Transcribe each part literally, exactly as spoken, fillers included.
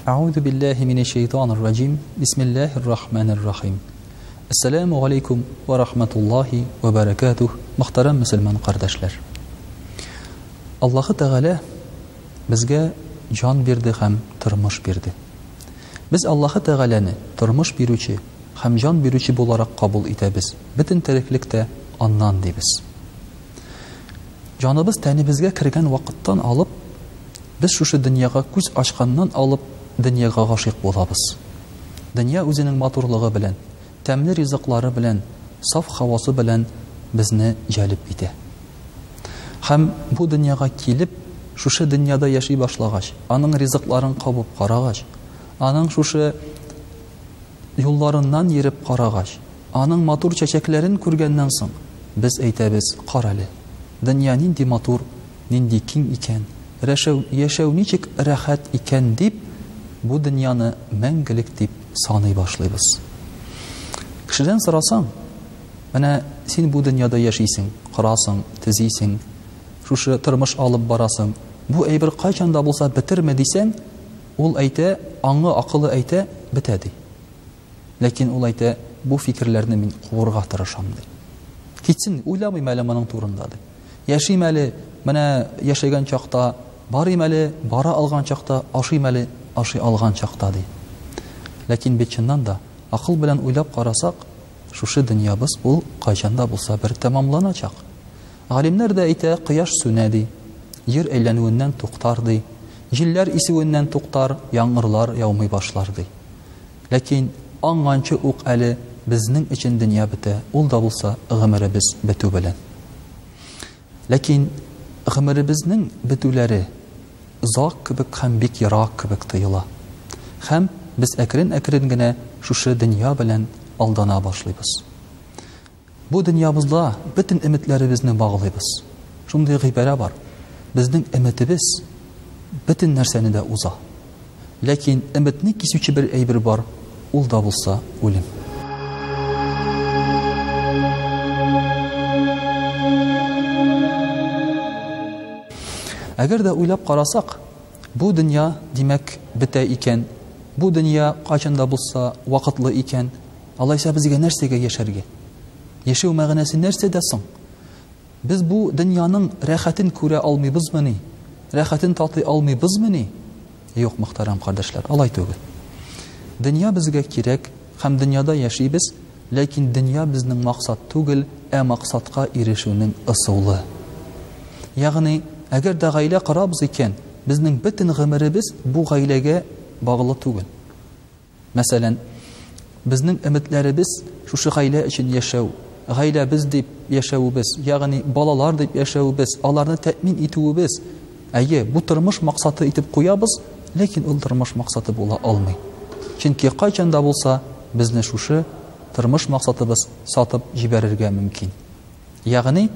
Аузу биллахи минеш шайтанир раджим. Бисмиллахир рахманир рахим. Ассаламу алейкум ва рахматуллахи ва баракатух. Мөхтәрәм мөселман кардәшләр. Аллаһы Тәгалә безгә җан бирде һәм тормыш бирде. Без Аллаһы Тәгаләне тормыш бирүче һәм җан бирүче буларак кабул итәбез. Бөтен тереклектә аннан дибез. Җаныбыз тәнебезгә кергән вакыттан алып, без шушы дөньяга күз ачканнан алып дөньяга гашыйк булабыз. Дөнья үзенең матурлыгы белән, тәмле ризыклары белән, саф һавасы белән безне җәлеп итә. Һәм бу дөньяга килеп, шушы дөньяда яши башлагач, аның ризыкларын кабып карагач, аның шушы юлларыннан йөреп карагач, аның матур чәчәкләрен күргәннән соң, без әйтәбез: "Карале, дөнья нинди матур, нинди киң икән, яшәү, яшәү ничек рәхәт икән" дип, бу дөньяны мәңгелек дип саный башлыйбыз. Кешедән сорасаң, менә син бу дөньяда яшисең, карасың, тезисең, шушы тормыш алып барасың, бу әйбер кайчан да булса бетерме дисәң, ул әйтә, аңы, акылы әйтә, бетә ди. Ләкин ул әйтә, бу фикерләрне мин куырга тырышам ди. Китсен, уйламыйм әле моның турында ди. Яшим әле, менә яшәгән чакта, барыйм әле, бара алган чакта, ашыйм әле, ашый алган чакта ди. Ләкин бит чыннан да, акыл белән уйлап карасак, шушы дөньябыз ул кайчан да булса бер тәмамланачак. Галимнәр дә әйтә, кояш сүнә ди, җир әйләнүеннән туктар ди, җилләр исүеннән туктар, яңгырлар яумый башлар ди. Ләкин аңганчы ук әле безнең өчен дөнья бетә, ул да булса гомеребез бетү белән. Ләкин гомеребезнең бетүләре озак кебек һәм бик ерак кебек тоела. Һәм без әкрен-әкрен генә шушы дөнья белән алдана башлыйбыз. Бу дөньябызда бөтен өметләребезне баглыйбыз. Шундый гыйбарә бар. Безнең өметебез бөтен нәрсәне дә уза. Ләкин өметне кисүче бер әйбер бар, ул да булса үлем. Әгәр дә уйлап карасак, бу дөнья димәк бетә икән, бу дөнья кайчан да булса вакытлы икән, алайса безгә нәрсәгә яшәргә? Яшәү мәгънәсе нәрсәдә соң? Без бу дөньяның рәхәтен күрә алмыйбызмыни? Рәхәтен татый алмыйбызмыни? Юк, мөхтәрәм кардәшләр, алай түгел. Дөнья безгә кирәк, һәм дөньяда яшибез, ләкин дөнья безнең максат түгел, ә максатка ирешүнең ысулы. Ягъни, әгәр дә гаилә карабыз икән, безнең бөтен гомеребез бу гаиләгә баглы түгел. Мәсәлән, безнең өметләребез шушы гаилә өчен яшәү, гаиләбез дип яшәүбез, ягъни балалар дип яшәүбез, аларны тәэмин итүебез. Әйе, бу тормыш максаты итеп куябыз, ләкин ул тормыш максаты була алмый. Чөнки кайчан да булса безне шушы тормыш максатыбыз сатып җибәрергә мөмкин. Ягъни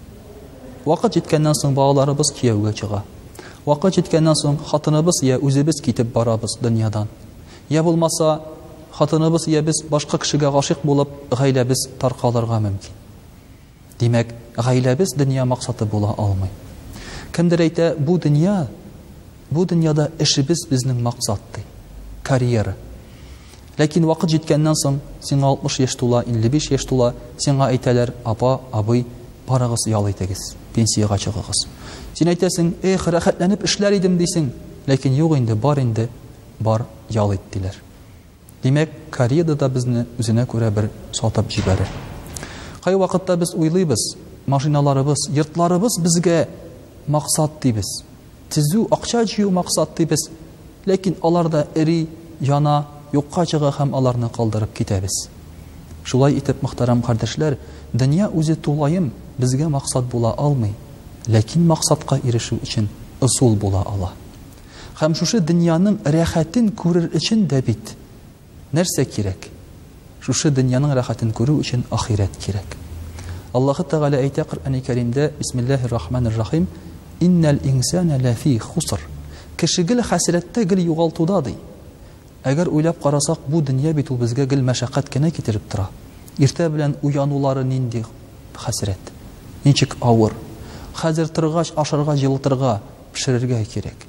вакыт җиткәннән соң балаларыбыз кияүгә чыга. Вакыт җиткәннән соң хатыныбыз я үзебез китеп барабыз дөньядан. Я булмаса хатыныбыз я без башка кешегә гашыйк булып, гаиләбез таркалырга мөмкин. Димәк, гаиләбез дөнья максаты була алмый. Кемдер әйтә, бу дөнья, бу дөньяда эшебез безнең максат ди, карьера. Ләкин вакыт җиткәннән соң, сиңа алтмыш яшь тула, илле биш яшь тула, сиңа әйтәләр: "Апа, абый, барыгыз ял итегез, пенсияга чыгыгыз." Син әйтәсең: "Эх, рәхәтләнеп эшләр идем" дисең, ләкин юк инде, бар инде, бар ял ит диләр. Димәк, карьера да безне үзенә күрә бер сатып җибәрә. Кай вакытта без уйлыйбыз, машиналарыбыз, йортларыбыз безгә максат дибез. Тизү, акча җыю максат дибез. Ләкин алар да эри, яна, юкка чыга һәм аларны калдырып китәбез. Шулай итеп, мөхтәрәм кардәшләр, дөнья үзе тулаем безгә максат була алмый, ләкин максатка ирешү өчен ысул була ала. Һәм шушы дөньяның рәхәтен күрер өчен дә бит нәрсә кирәк? Шушы дөньяның рәхәтен күрү өчен ахират кирәк. Аллаһы Тәгалә әйтә Коръәни Кәримдә: "Бисмиллаһир рахманир рахим. Иннал инсана лафи хуср." Кеше гел хәсрәттә, гел югалтуда ди. Әгәр уйлап карасак, бу дөнья бит ул безгә гел мәшәкать кенә китереп тора. Иртә белән уянулары нинди хәсрәт, ничек авыр. Хәзер торгач, ашарга, җылытырга, пешерергә кирәк.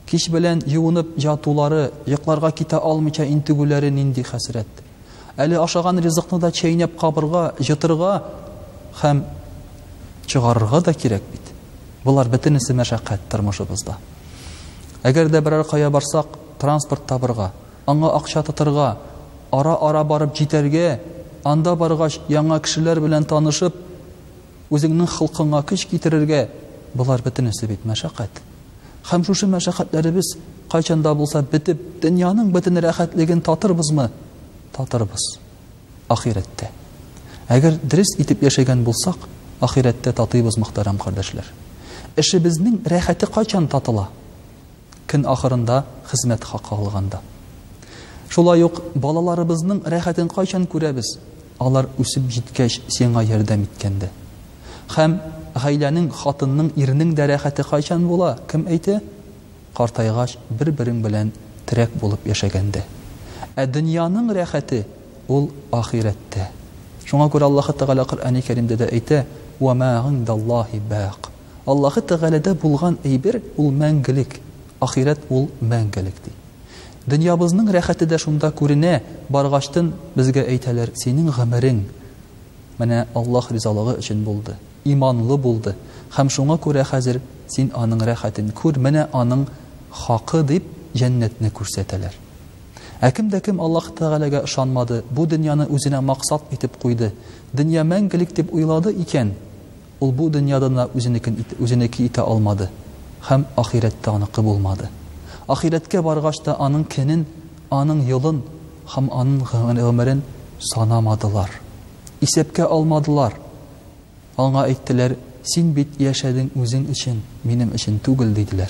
Кич белән юынып ятулары, йокларга китә алмыйча интегүләре нинди хәсрәт. Әле ашаган ризыкны да чәйнәп кабырга, җытырга һәм чыгарырга да кирәк бит. Булар бөтенесе мәшәкать тормышыбызда. Әгәр дә берәр кая барсак, транспорт табырга, аңа акча тотырга, ара-ара барып җитәргә, анда баргач яңа кешеләр белән танышып, үзеңнең хылкыңа көч китерергә, булар бөтенесе бит мәшәкать. Һәм шушы мәшәкатьләребез кайчанда булса битеп, дөньяның бөтен рәхәтлеген татырбызмы? Татырбыз. Ахирәттә. Әгәр дөрес итеп яшәгән булсак, ахирәттә татыйбыз, мөхтәрәм кардәшләр. Эшебезнең рәхәте кайчан татыла? Көн ахырында хезмәт хакы алганда. Шулай ук балаларыбызның рәхәтен кайчан күрәбез? Алар үсеп җиткәч, сиңа ярдәм иткәндә. Һәм гаиләнең, хатынның, ирнең дә рәхәте кайчан була? Кем әйтә? Картайгач, бер-берең белән терәк булып яшәгәндә. Ә дөньяның рәхәте ул ахирәттә. Шуңа күрә Аллаһ Тәгалә Коръәни Кәримдә дә әйтә: "Ва ма индаллаһи бақ." Аллаһ Тәгаләдә булган әйбер ул мәңгелек, ахирәт ул мәңгелек ди. Дөньябызның рәхәте дә шунда күренә. Баргачтын безгә әйтәләр: "Синең гомерең менә Аллаһ ризалыгы өчен булды, иманлы булды, һәм шуңа күрә хәзер син аның рәхәтен күр, менә аның хакы" дип җәннәтне күрсәтәләр. Ә кем дә кем Аллаһ Тәгаләгә ышанмады, бу дөньяны үзенә максат итеп куйды, дөнья мәңгелек дип уйлады икән, ул бу дөньяда да үзенекен үзенеке итә алмады, һәм ахирәттә аныкы булмады. Ахирәткә баргач та аның көнен, аның елын һәм аның гомерен санамадылар. Исәпкә алмадылар. Аңа әйттеләр: "Син бит яшәдең үзең өчен, минем өчен түгел" диделәр.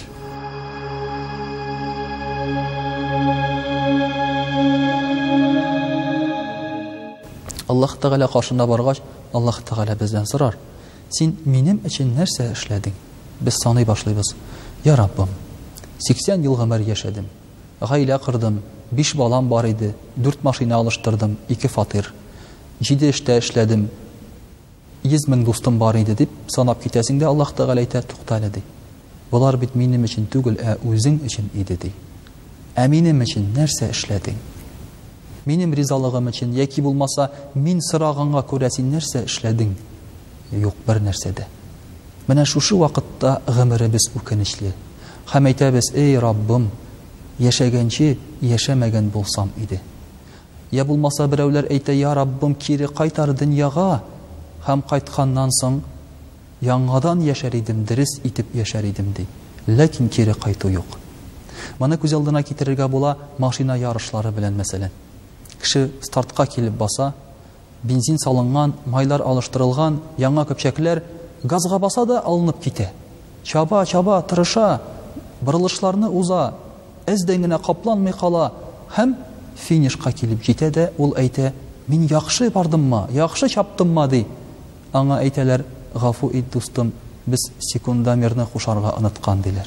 Аллаһ Тәгалә каршына баргач, Аллаһ Тәгалә бездән сорар: "Син минем өчен нәрсә эшләдең?" Без саный башлыйбыз: "Я Раббым, сиксән ел гомер яшәдем, гаилә кырдым, биш балам бар иде, дүрт машина алыштырдым, ике фатир, җиде эштә эшләдем, йөз мең дустым бар иде" дип санап китәсең дә, Аллаһ Тәгалә әйтә: "Туктале" ди. "Булар бит минем өчен түгел, ә үзең өчен иде" ди. "Ә минем өчен нәрсә эшләдең? Минем ризалыгым өчен, яки булмаса мин сораганга күрә син нәрсә эшләдең?" Юк, бер нәрсә дә. Менә шушы вакытта гомеребез үкенечле. Һәм әйтәбез: "Эй Раббым, яшәгәнче яшәмәгән булсам иде." Я булмаса берәүләр әйтә: "Я Раббым, кире кайтар дөньяга, һәм кайтканнан соң яңадан яшәр идем, дөрес итеп яшәр идем" ди. Ләкин кире кайту юк. Моны күз алдына китерергә була машина ярышлары белән мәсәлән. Кеше стартка килеп баса, бензин салынган, майлар алыштырылган, яңа көпчәкләр, газга баса да алынып китә. Чаба, чаба, тырыша, борылышларны уза, әздән генә капланмый кала, һәм финишка килеп җитә дә ул әйтә: "Мин яхшы бардыммы, яхшы чаптыммы" ди. Аңа әйтәләр: "Гафу ит, дустым, без секундомерны кушарга оныткан" диләр.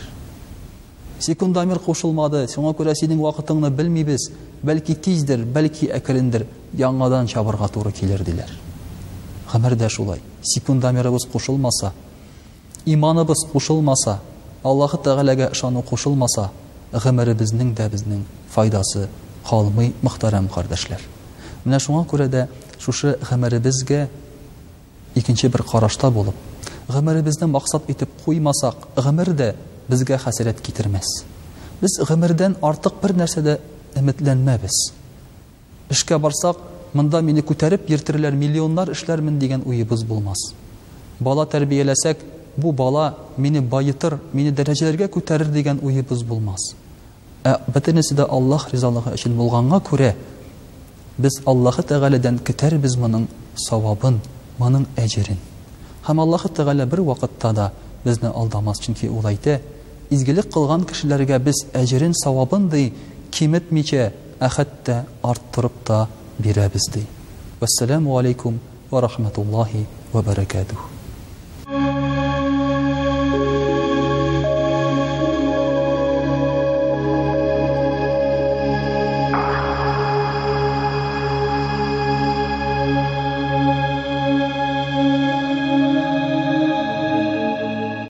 Секундомер кушылмады, шуңа күрә синең вакытыңны белмибез, бәлки тиздер, бәлки әкрендер, яңадан чабырга туры килер диләр. Гомердә шулай. Секундомерыбыз кушылмаса, иманыбыз кушылмаса, Аллаһ Тәгаләгә ышану кушылмаса, гомеребезнең дә безнең файдасы калмый, мөхтәрәм кардәшләр. Менә шуңа күрә дә шушы гомеребезгә икенче бер карашта булып, гомеребезне максат итеп куймасак, гомер дә безгә хәсрәт китермәс. Без гомердән артык бер нәрсәдә өметләнмәбез. Эшкә барсак, монда мине күтәреп йөртерләр, миллионнар эшләрмен дигән уебыз булмас. Бала тәрбияләсәк, бу бала мине байытыр, мине дәрәҗәләргә күтәрер дигән уебыз булмас. Ә бөтенесе дә Аллаһ ризалыгы өчен булганга күрә, без Аллаһ Тәгаләдән көтәрбез моның савабын, моның әҗерен. Һәм Аллаһ Тәгалә бер вакытта да безне алдамас, чөнки ул әйтә: "Изгелек кылган кешеләргә без әҗерен, савабын ди, киметмичә, ә хәтта арттырып та бирәбез" ди. Вассаламу алейкум ва рахматуллаһи ва баракатуһ.